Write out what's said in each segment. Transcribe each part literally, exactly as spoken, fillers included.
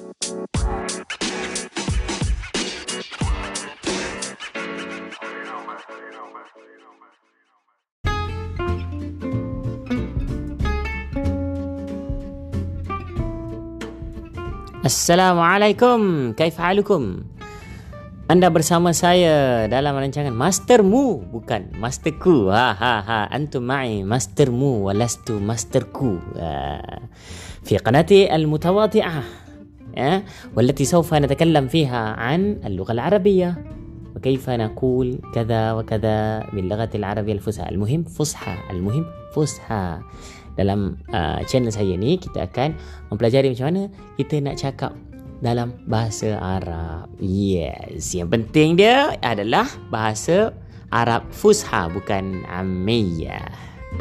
Assalamualaikum, kaif halukum? Anda bersama saya dalam rancangan Mastermu, bukan Masterku. Ha ha ha, antum ma'i Mastermu walastu Masterku. في قناتي المتواضعة والتي سوف نتكلم فيها عن اللغة العربية وكيف نقول كذا وكذا باللغة العربية الفصحى. المهم فصحى، المهم فصحى. Dalam uh, channel saya ni kita akan mempelajari macam mana kita nak cakap dalam bahasa Arab. Yes, yang penting dia adalah bahasa Arab Fusha, bukan Ammiyah.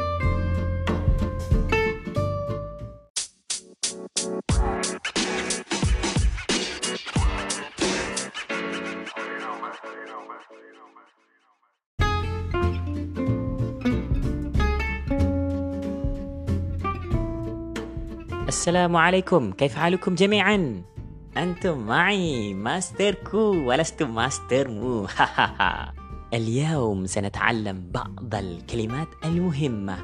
Assalamualaikum, kaif halukum jami'an? Antum معي ماستركو ولست ماسترمو. اليوم سنتعلم بعض الكلمات المهمة.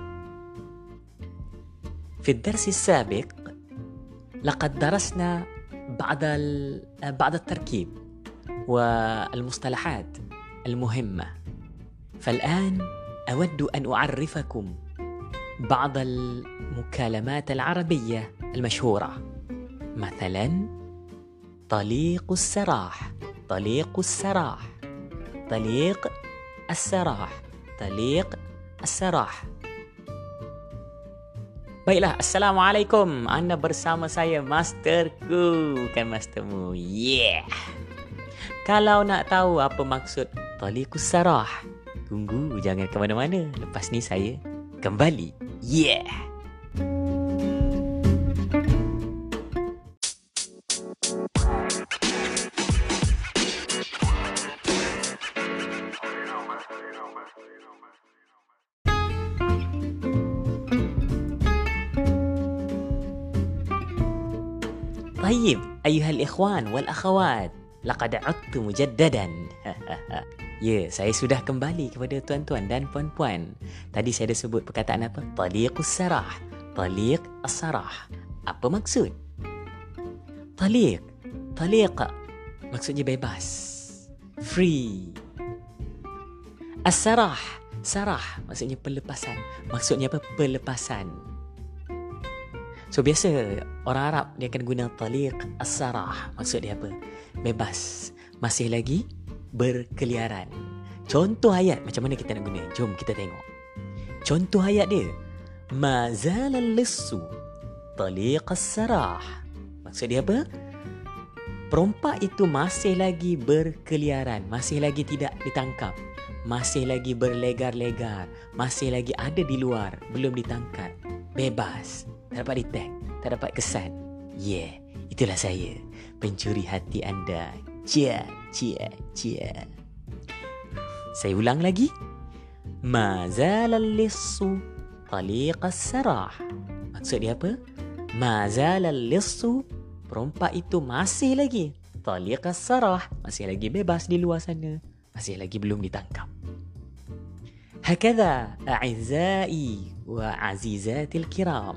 في الدرس السابق لقد درسنا بعض بعض التركيب والمصطلحات المهمة، فالآن أود أن أعرفكم بعض المكالمات العربية المشهورة. مثلا طليق السراح، طليق السراح، طليق السراح، طليق السراح. Baiklah, Assalamualaikum. Anda bersama saya Masterku, bukan Mastermu. Yeah. Kalau nak tahu apa maksud Taliqus Sarah, tunggu, jangan ke mana-mana. Lepas ni saya kembali. Yeah. طيب أيها الإخوان والأخوات، لقد عدت مجددا. Ya, saya sudah kembali kepada tuan-tuan dan puan-puan. Tadi saya dah sebut perkataan apa? Taliqus sarah. Taliq as-sarah. Apa maksud? Taliq. Taliq maksudnya bebas. Free. As-sarah. Sarah maksudnya pelepasan. Maksudnya apa? Pelepasan. So biasa orang Arab dia akan guna taliq as-sarah. Maksud dia apa? Bebas. Masih lagi berkeliaran. Contoh ayat macam mana kita nak guna? Jom kita tengok. Contoh ayat dia. Ma zala al-lissu taliq as-sarah. Maksud dia apa? Perompak itu masih lagi berkeliaran, masih lagi tidak ditangkap, masih lagi berlegar-legar, masih lagi ada di luar, belum ditangkap. Bebas, tak dapat detect, tak dapat kesan. Yeah, itulah saya, pencuri hati anda. Cia, cia, cia. Saya ulang lagi. Ma zala al-lissu taliq as-sarah. Maksud dia apa? Ma zala al-lissu, perompak itu masih lagi taliq as-sarah, masih lagi bebas di luar sana, masih lagi belum ditangkap. Hakadha a'izza'i wa 'azizatil kiram.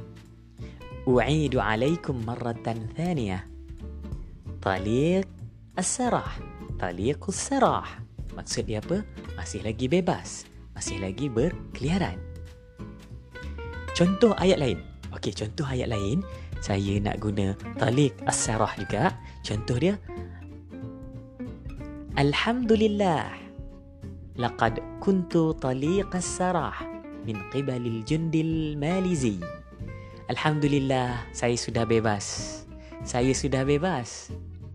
U'idu 'alaikum marratan thaniyah. Taliq as-sarah, taliqus sarah. Maksud dia apa? Masih lagi bebas, masih lagi berkeliaran. Contoh ayat lain. Okey, contoh ayat lain. Saya nak guna taliq as-sarah juga. Contoh dia. Alhamdulillah. Laqad kuntu taliq as-sarah min qibalil jundil malizi. Alhamdulillah, saya sudah bebas. Saya sudah bebas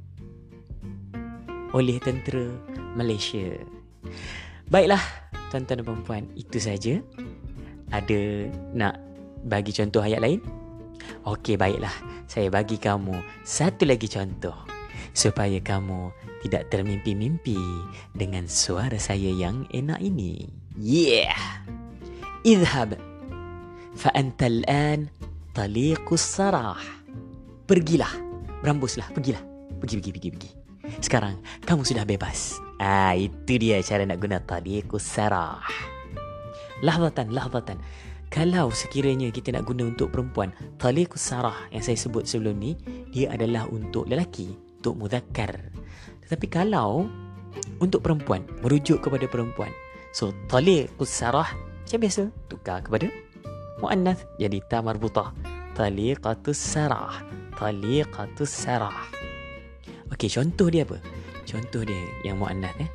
oleh tentera Malaysia. Baiklah, tuan-tuan dan puan-puan, itu saja. Ada nak bagi contoh ayat lain? Okey, baiklah. Saya bagi kamu satu lagi contoh supaya kamu tidak termimpi-mimpi dengan suara saya yang enak ini. Yeah. Idhab fa anta al-an taliqus sarah. Pergilah. berambuslah, pergilah. Pergi, pergi, pergi, pergi. Sekarang, kamu sudah bebas. Ah, itu dia cara nak guna taliqus sarah. Lahzatan, lahzatan. Kalau sekiranya kita nak guna untuk perempuan, taliqus sarah yang saya sebut sebelum ni, dia adalah untuk lelaki, untuk mudzakkar. Tetapi kalau untuk perempuan, merujuk kepada perempuan, so taliqus sarah macam biasa, tukar kepada muannath, jadi ta marbutah. Taliqatus sarah, taliqatus sarah. Okey, contoh dia apa? Contoh dia yang muannath eh.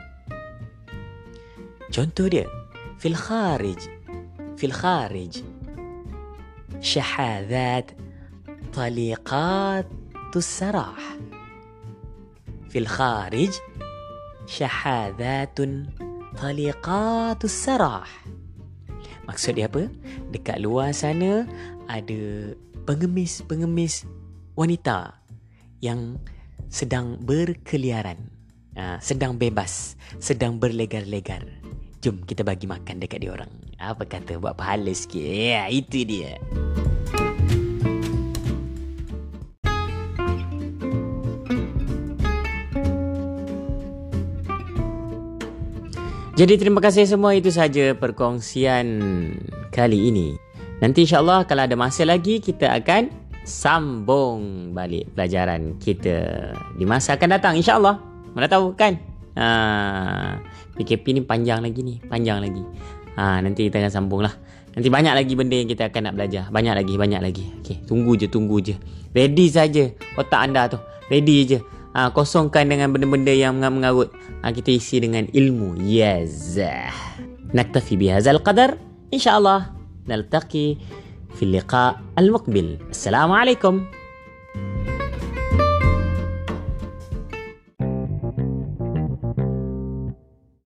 Contoh dia fil kharij, fil kharij syahadhat taliqatus sarah. Fil kharij syahadatun taliqatus sarah. Maksud dia apa? Dekat luar sana ada pengemis-pengemis wanita yang sedang berkeliaran, ha, sedang bebas, sedang berlegar-legar. Jom kita bagi makan dekat dia orang. Apa kata, buat pahala sikit. Ya, itu dia. Jadi terima kasih semua, itu saja perkongsian kali ini. Nanti insyaAllah kalau ada masa lagi kita akan sambung balik pelajaran kita di masa akan datang insyaAllah. Mana tahu kan, ha, P K P ni panjang lagi ni, panjang lagi. Ha, nanti kita akan sambung lah. Nanti banyak lagi benda yang kita akan nak belajar. Banyak lagi, banyak lagi. Okay, tunggu je, tunggu je. Ready saja otak anda tu. Ready je. Ha, kosongkan dengan benda-benda yang mengarut. Ha, kita isi dengan ilmu. Yes. Naktafi bihazal qadar. InsyaAllah naltaqi في اللقاء المقبل. السلام عليكم.